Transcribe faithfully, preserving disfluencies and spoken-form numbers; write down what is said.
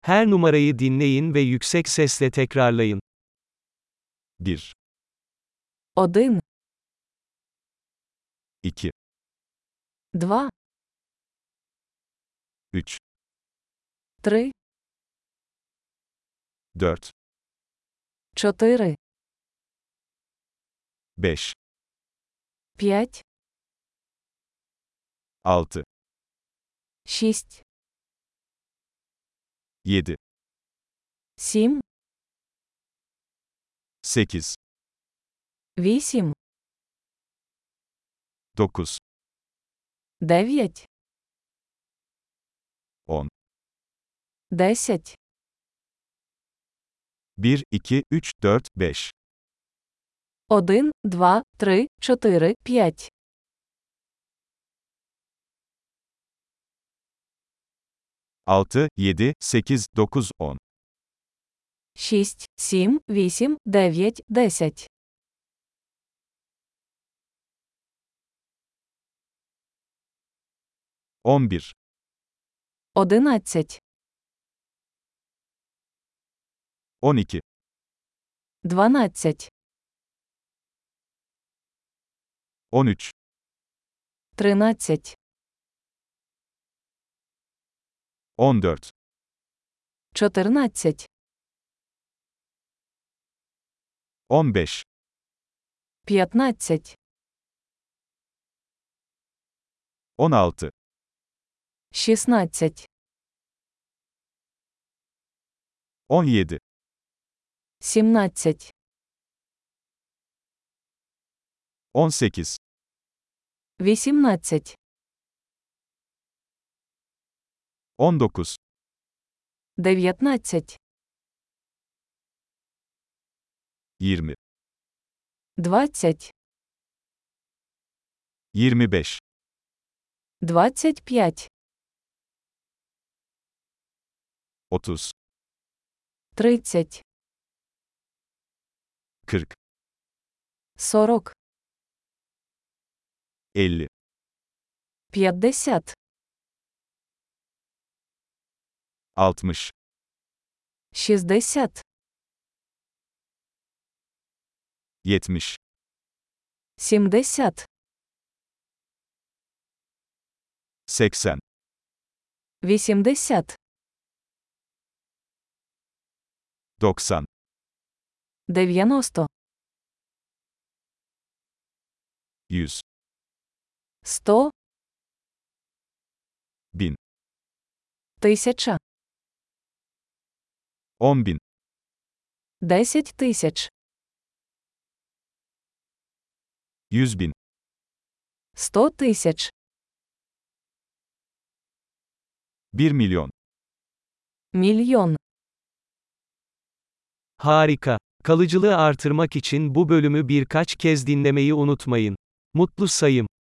Her numarayı dinleyin ve yüksek sesle tekrarlayın. bir, Один, iki, два, üç, три, dört, чотири, beş, п'ять, altı, шість, yedi, сім, sekiz, вісім, dokuz, дев'ять, on, десять, bir, iki, üç, dört, beş, один, два, три, чотири, п'ять, altı, yedi, sekiz, dokuz, on, шість, сім, вісім, дев'ять, десять, on bir, одинадцять, on iki, дванадцять, on üç, тринадцять, on dört, чотирнадцять, on beş, п'ятнадцять, on altı, шістнадцять, on yedi, сімнадцять, on sekiz, вісімнадцять, on dokuz, дев'ятнадцять, yirmi, двадцять, yirmi beş, двадцять п'ять, otuz, тридцять, kırk, сорок, elli, п'ятдесят, altmış, шістдесят, yetmiş, сімдесят, seksen, вісімдесят, doksan, дев'яносто, yüz, сто, bin, тисяча, on bin, десять тисяч, yüz bin, сто тисяч, bir milyon. мільйон. Harika. Kalıcılığı artırmak için bu bölümü birkaç kez dinlemeyi unutmayın. Mutlu sayım.